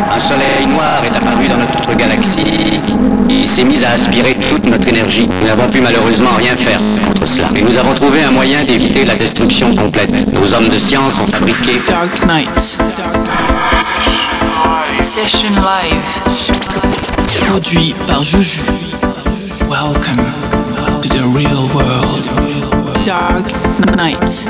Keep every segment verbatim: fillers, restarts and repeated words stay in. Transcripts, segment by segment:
Un soleil noir est apparu dans notre galaxie et s'est mis à aspirer toute notre énergie. Nous n'avons pu malheureusement rien faire contre cela. Et nous avons trouvé un moyen d'éviter la destruction complète. Nos hommes de science ont fabriqué Dark Knight. Session live. Produit par Juju. Welcome to the real world. Dark Knight.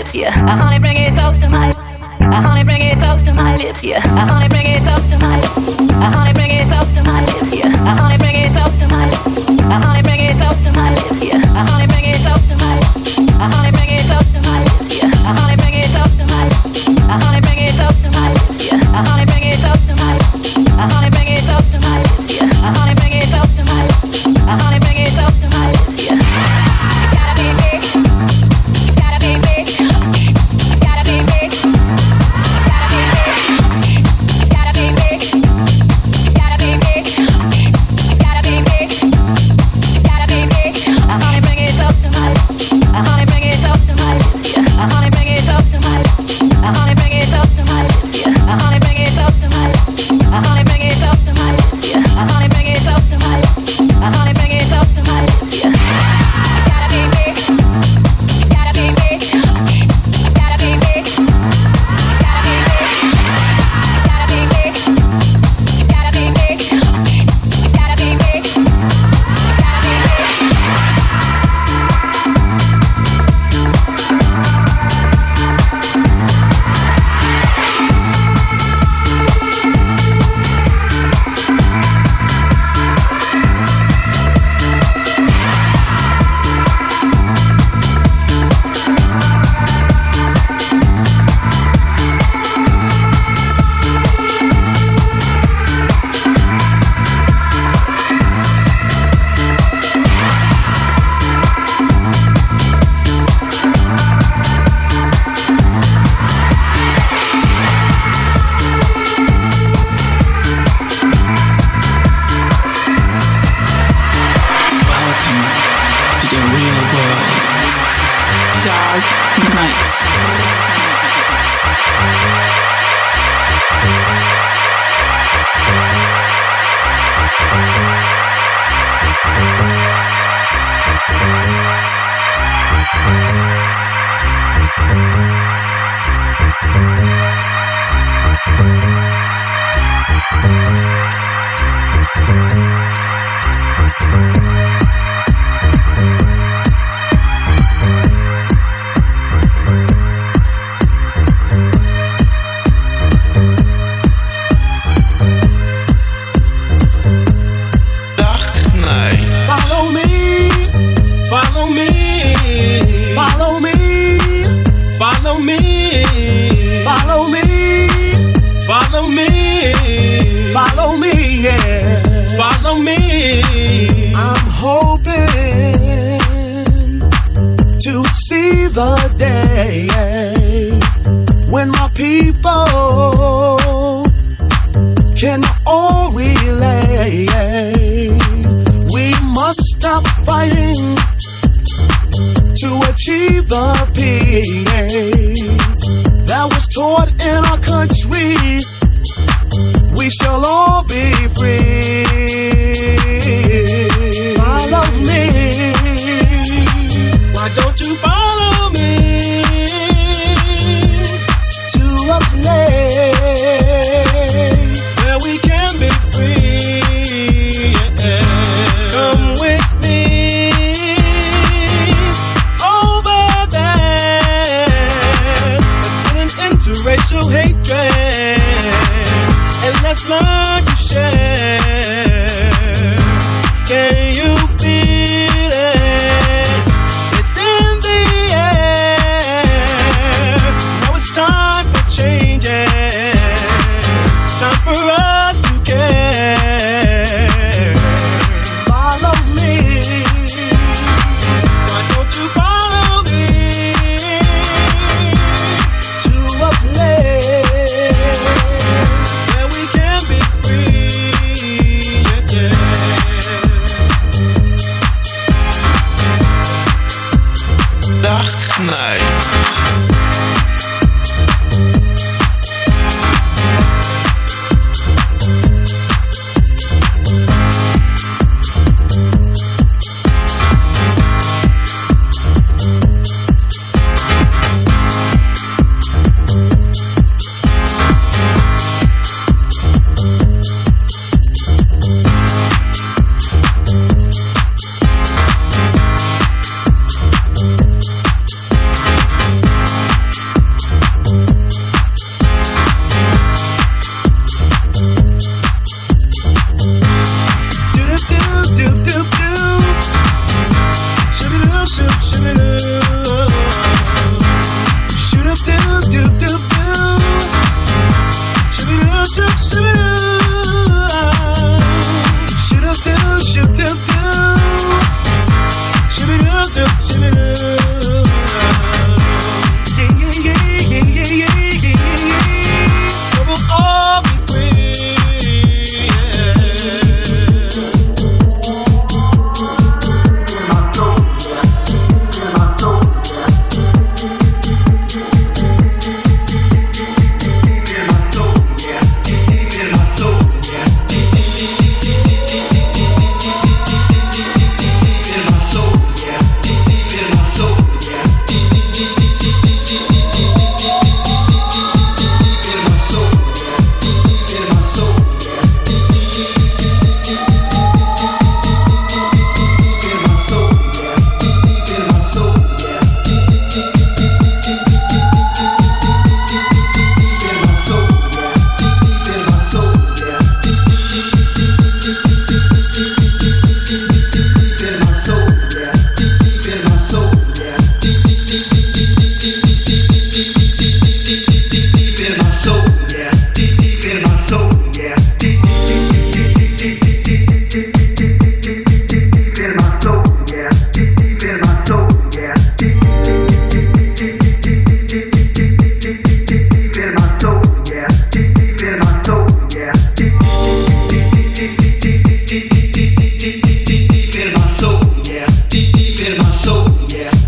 lips, yeah. I honey bring it close to my, I honey bring it close to my lips, yeah. I honey bring it close to my, I honey bring it close to my lips, yeah. I honey bring it close to my, I honey bring it close to my lips, yeah. I honey bring it close to my, I honey bring it close to my lips, yeah. I honey bring it close to my, I honey bring it close to my lips, yeah. I honey bring it close to my, I honey bring it close to my lips, yeah. I honey bring it close to my, I honey bring it close to my lips, yeah. It's gotta be big, it's gotta be big, it's gotta be big, it's gotta be big, it's gotta be big, it's gotta be big, it's gotta be big, it's gotta be big. I honey bring it close to my, I honey bring it close to my lips, yeah. I honey bring it close to my, I honey bring it close to my lips, yeah. I honey bring it close to my, I honey bring it close to my lips, yeah. I honey bring it close to my, I honey bring it close to my lips, yeah. It's gotta be big, it's gotta be big, it's gotta be big, it's gotta be big, it's gotta be big, it's gotta be big, it's gotta be big, it's gotta be big.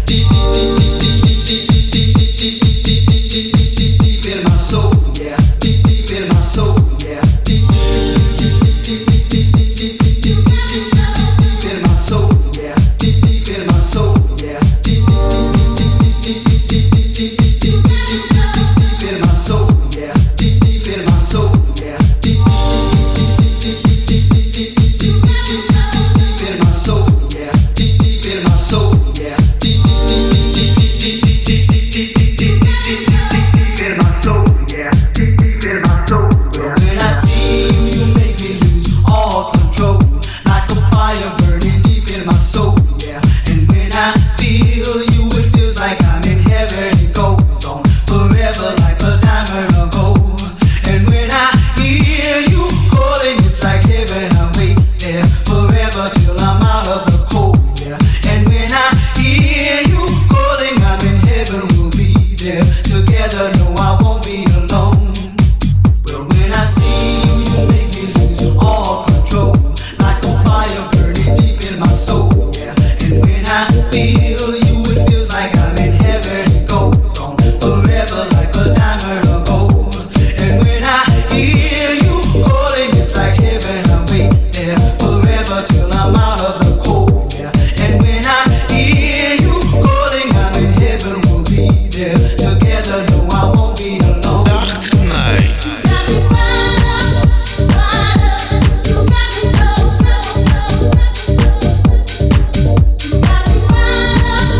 Got me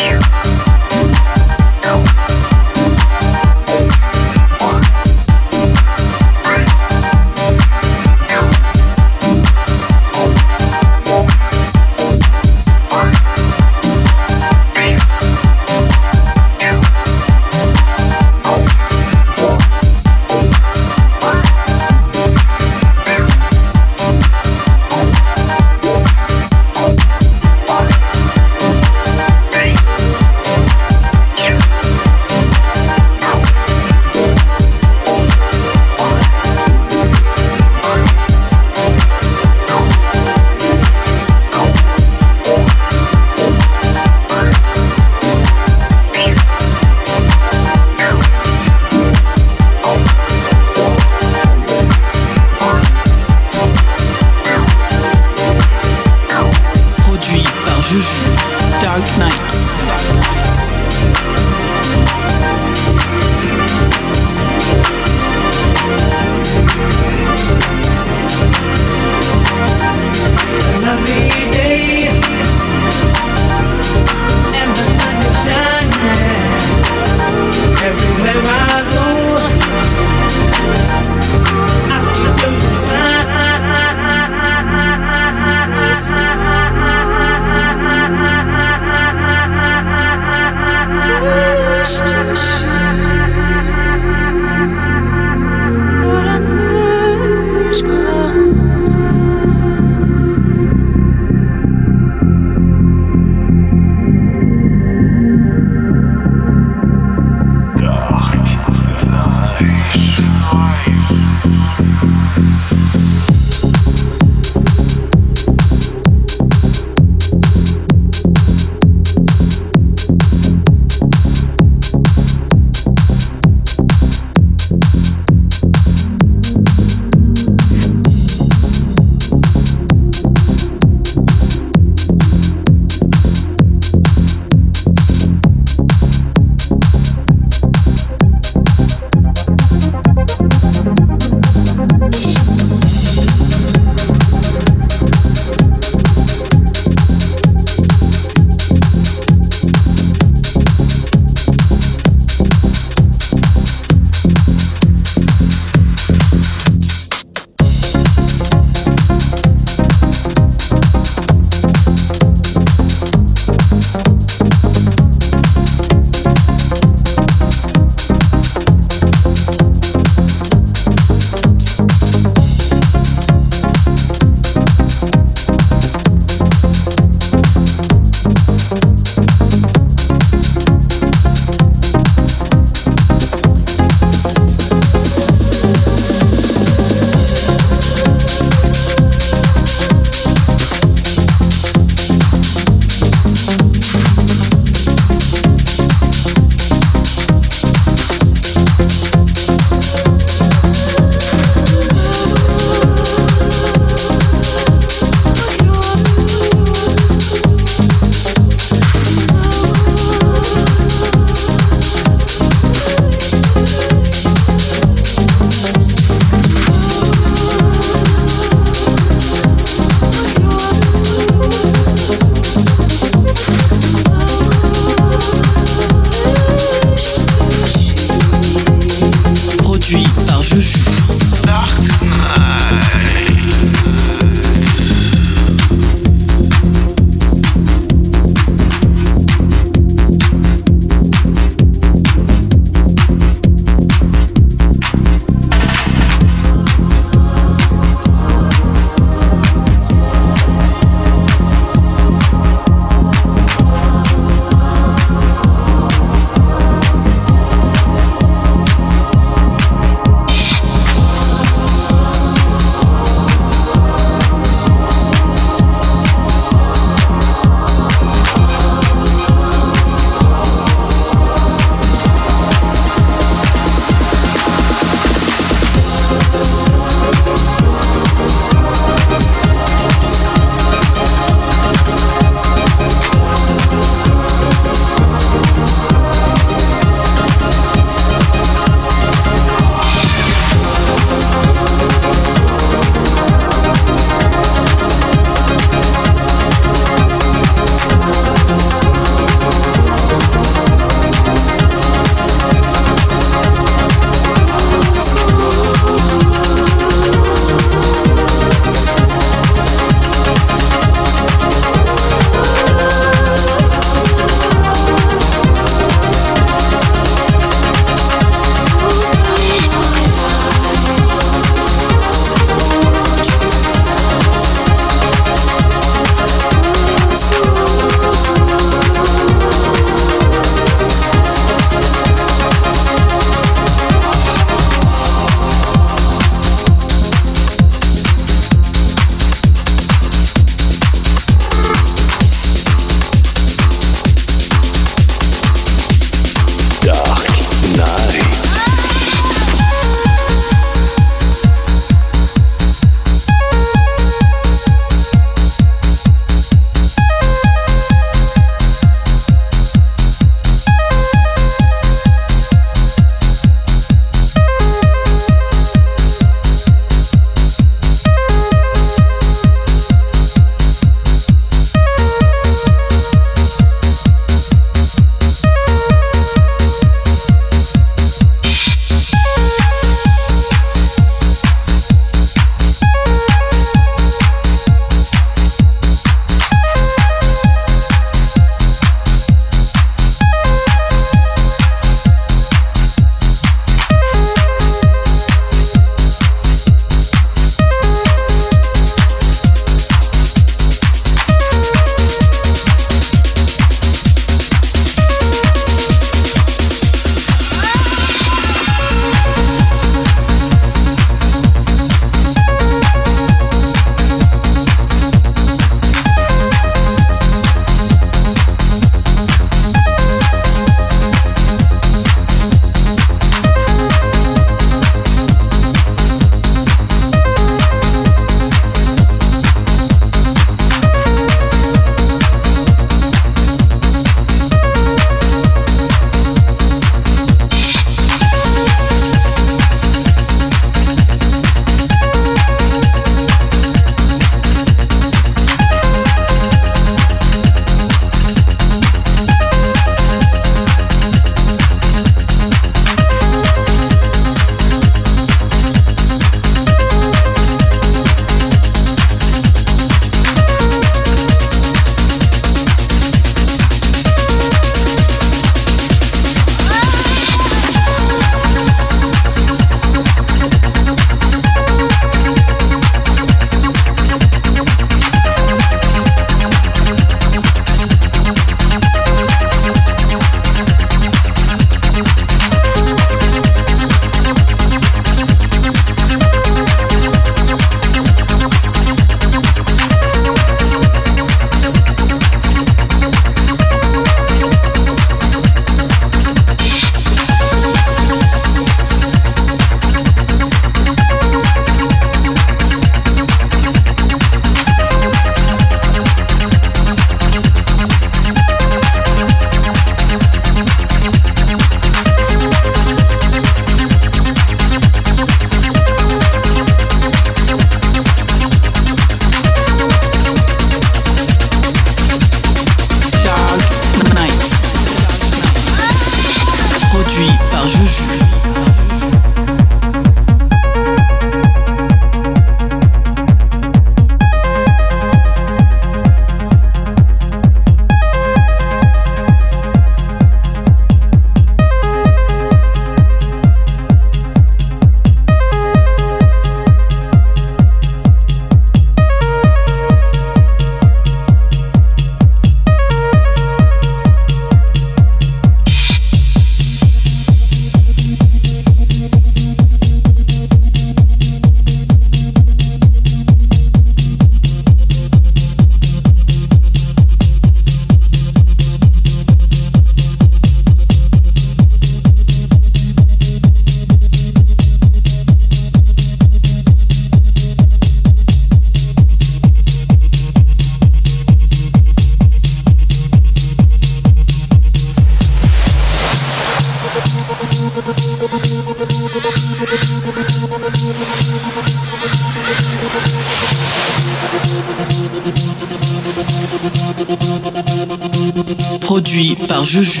Produit par Juju.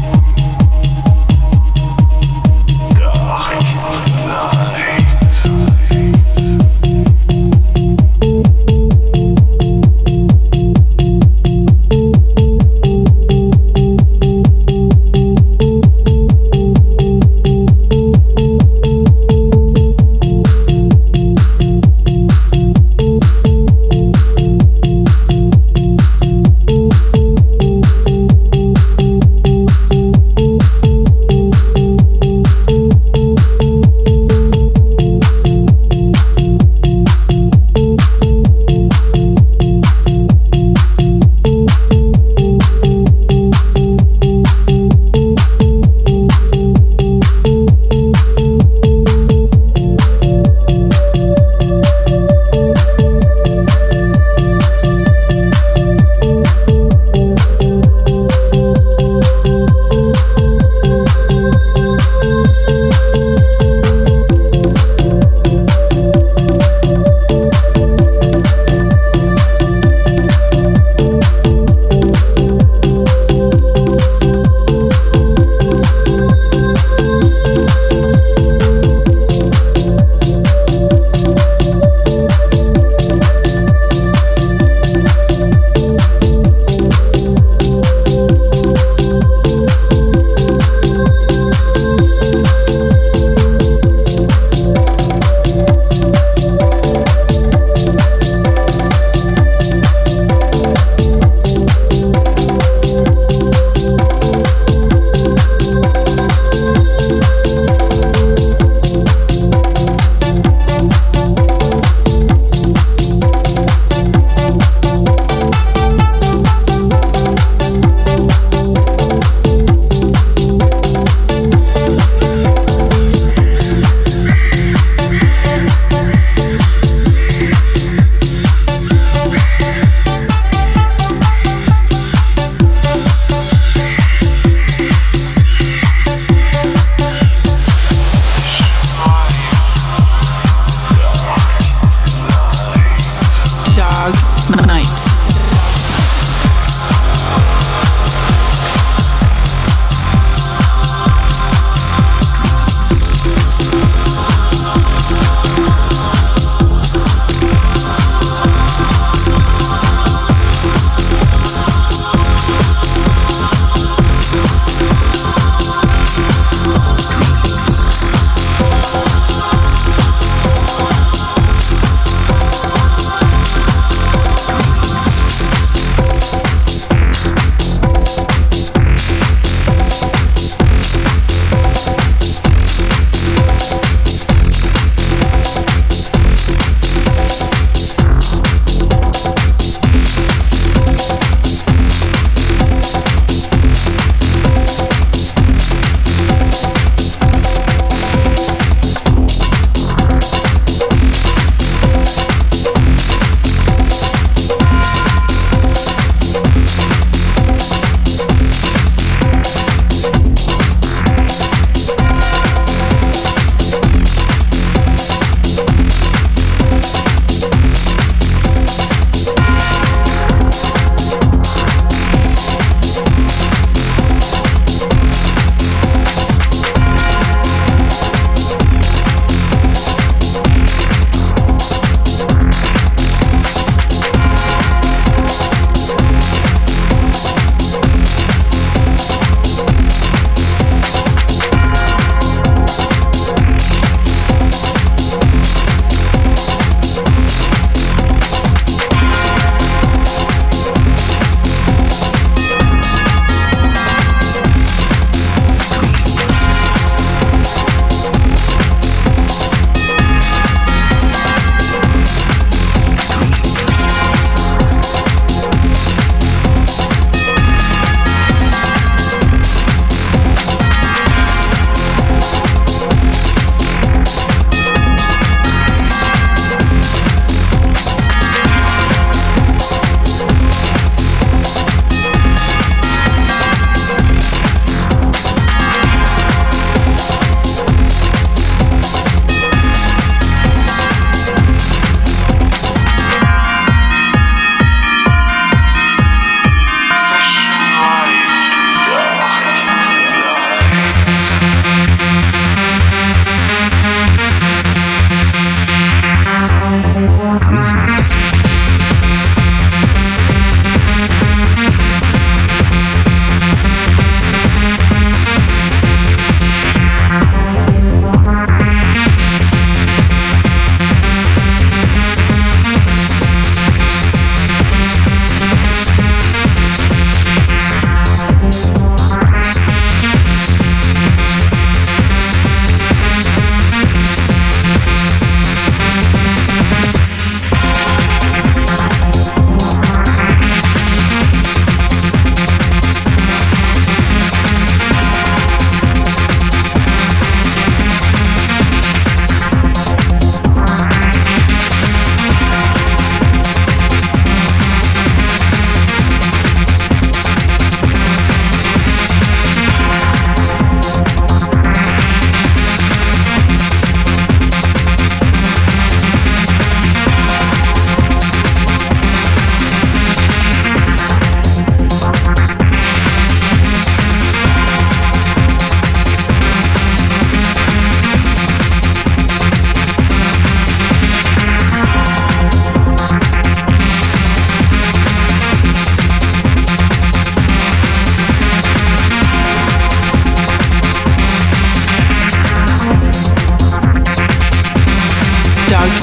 Dark night.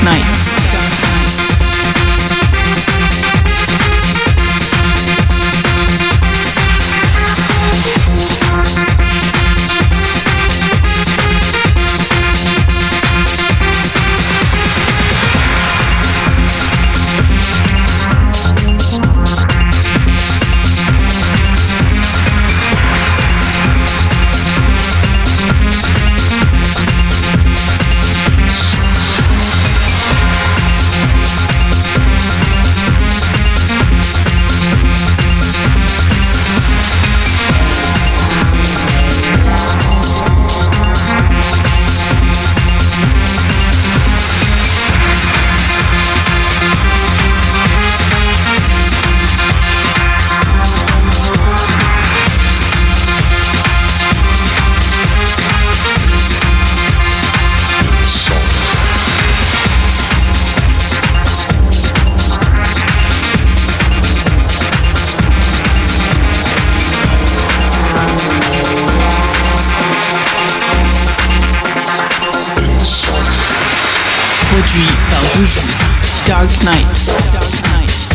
Nights. Produit par Juju. Dark Nights. Dark Nights.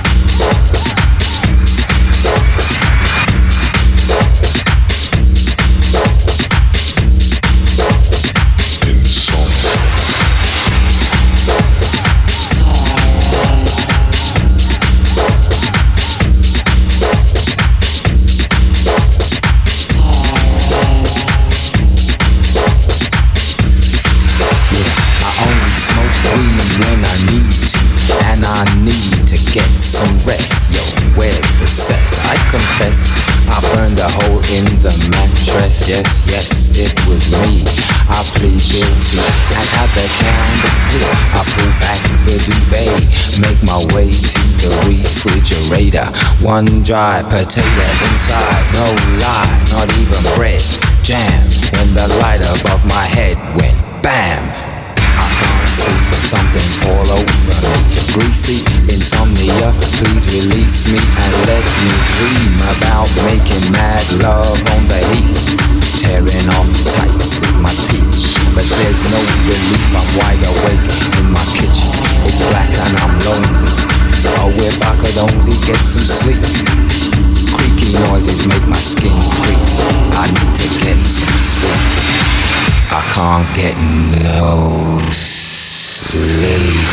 When I need to, and I need to get some rest. Yo, where's the sex? I confess, I burned a hole in the mattress. Yes, yes, it was me. I plead guilty. I got the count of three. I pull back the duvet, make my way to the refrigerator. One dry potato inside, no lie, not even bread. Jam, when the light above my head went bam. I can't see, but something's all over me. Greasy insomnia, please release me and let me dream about making mad love on the heath, tearing off tights with my teeth. But there's no relief, I'm wide awake in my kitchen. It's black and I'm lonely. Oh, if I could only get some sleep. Creaky noises make my skin creep. I need to get some sleep. I can't get no sleep.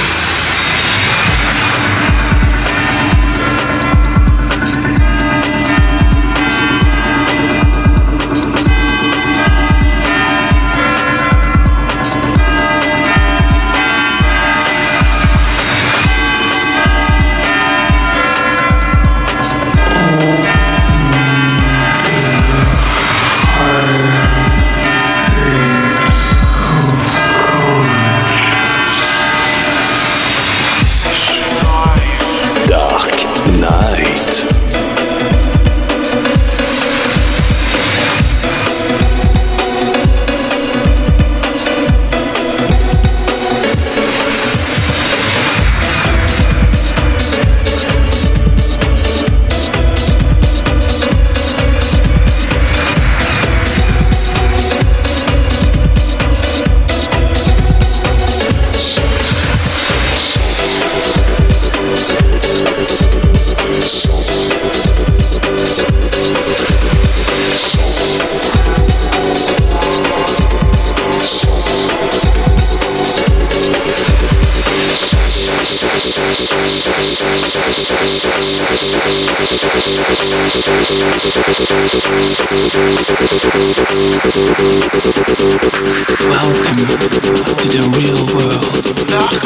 Welcome to the real world. Dark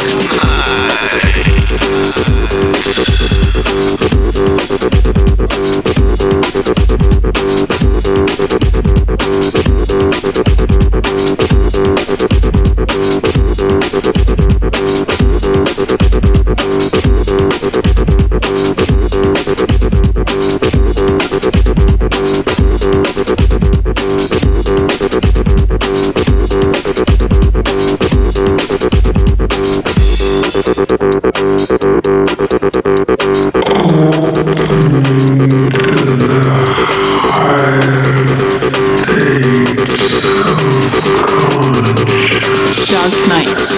State of consciousness. Dark Nights.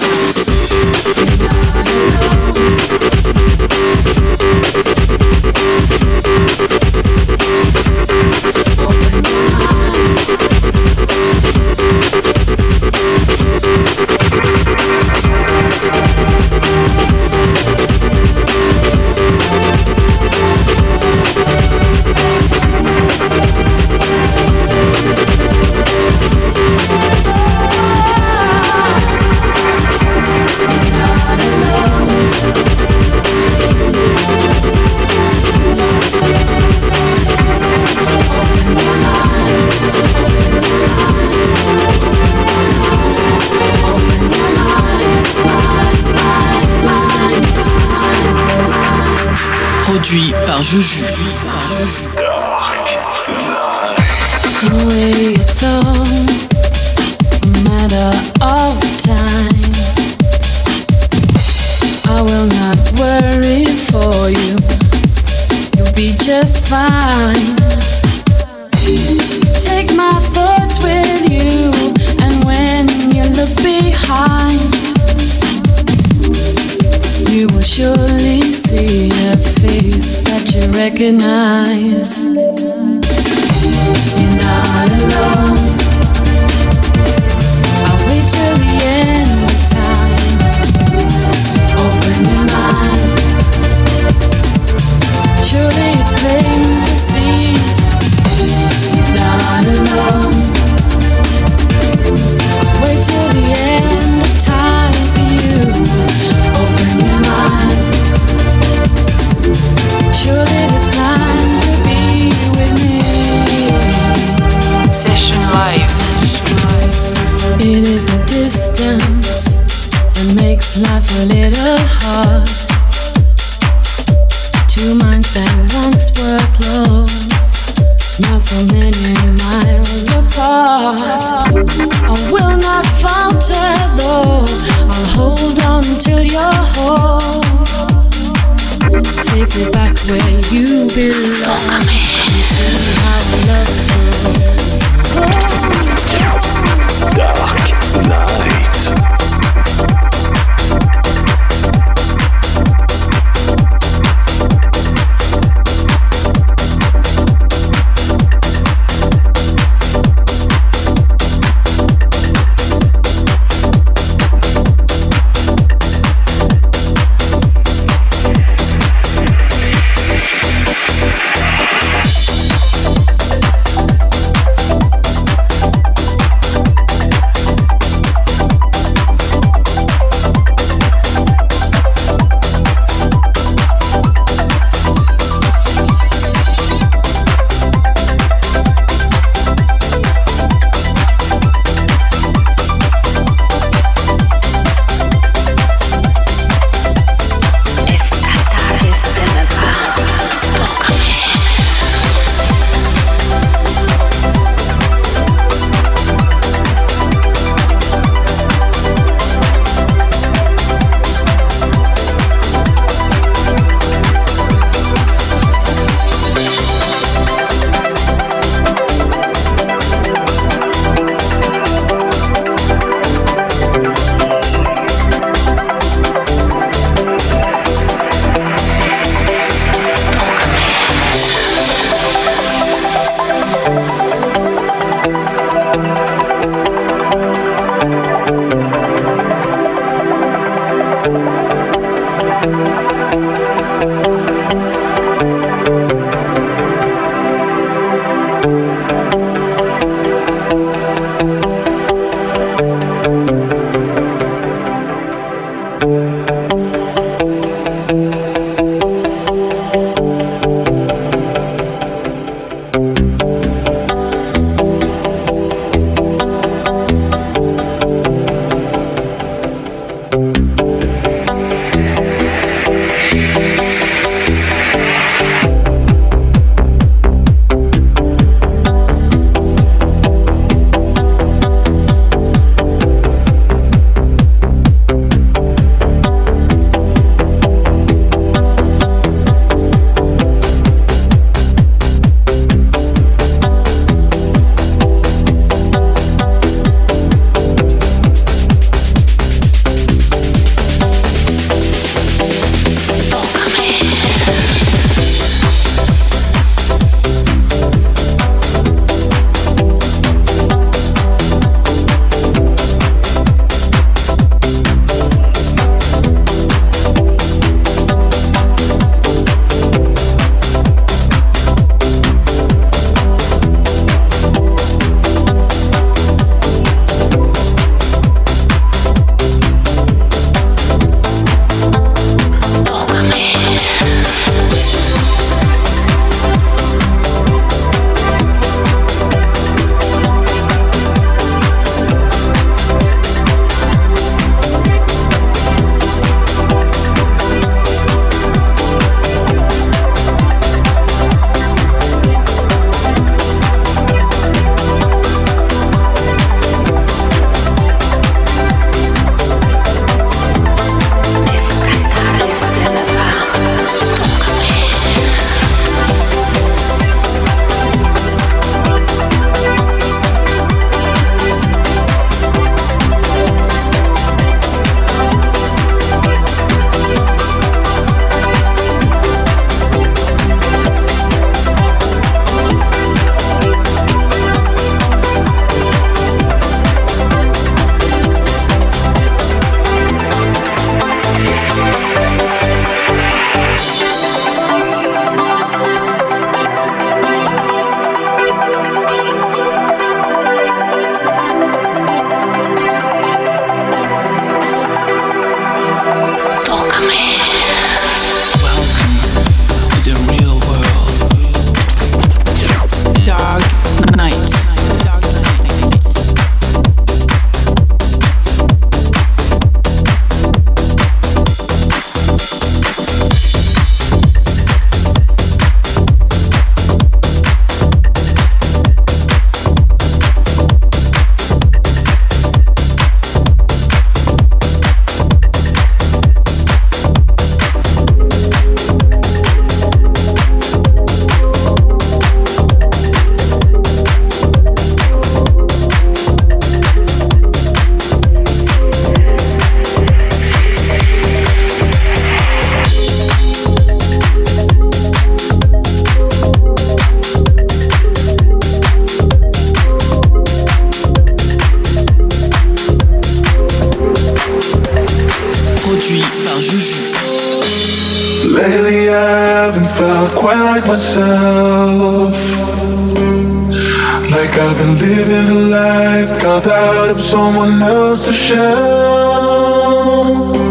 Produit par Juju. In a way it's all a matter of time. I will not worry for you. You'll be just fine. Take my thoughts with you, and when you look behind, you will surely see a face that you recognize. You're not alone. I'll wait till the end of time. Open your mind. Surely it's plain to see. You're not alone. Wait till the end of time for you. Open your mind. Surely it's time to be with me. Session Live. It is the distance that makes life a little hard. Two minds that once were close, now so many miles apart. I will not falter though, I'll hold on till you're whole, safely back where you belong. You see how love's grown. Dark Night. like myself. Like I've been living a life carved out of someone else's shell.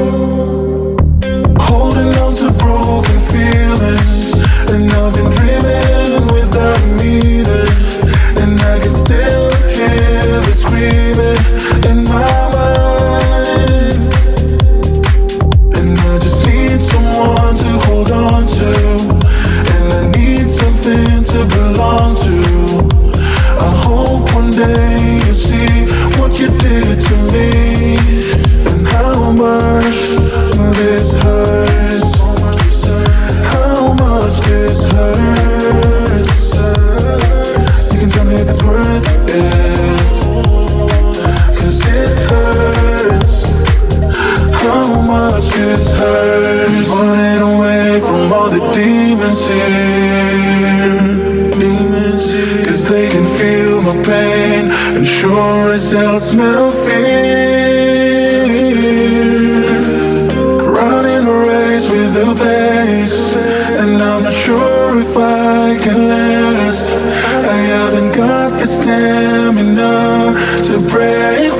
Holding on to broken feelings, and I've been dreaming without meaning. And I can still hear the screaming in my mind. And I just need someone to hold on to, and I need something to belong to. I hope one day you'll see what you did to me, and how much this hurts. How much this hurts. You can tell me if it's worth it, 'cause it hurts. How much this hurts. Running away from all the demons here, demons here. 'Cause they can feel my pain, and sure as hell smell fear. Running a race with the pace, and I'm not sure if I can last. I haven't got the stamina to break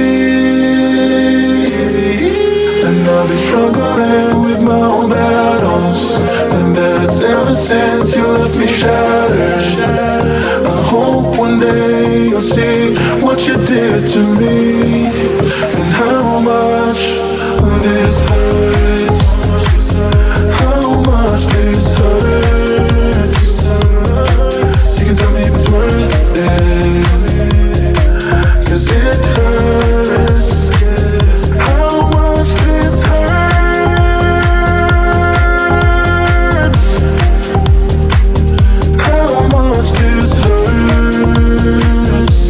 free, and I've been struggling with my own battles, and that's ever since you left me shattered. I hope one day you'll see what you did to me, and how much this hurts. How much this hurts. You can tell me if it's worth it, 'cause it hurts. How much this hurts. How much this hurts.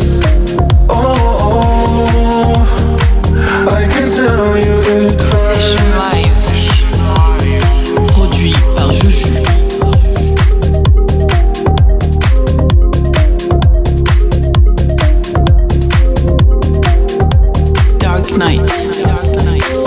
Oh, I can tell you it hurts. Session Live. Produit par Juju. Dark Nights. Dark Nights.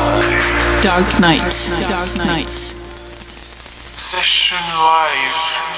Dark Nights. Dark Nights. Session Live.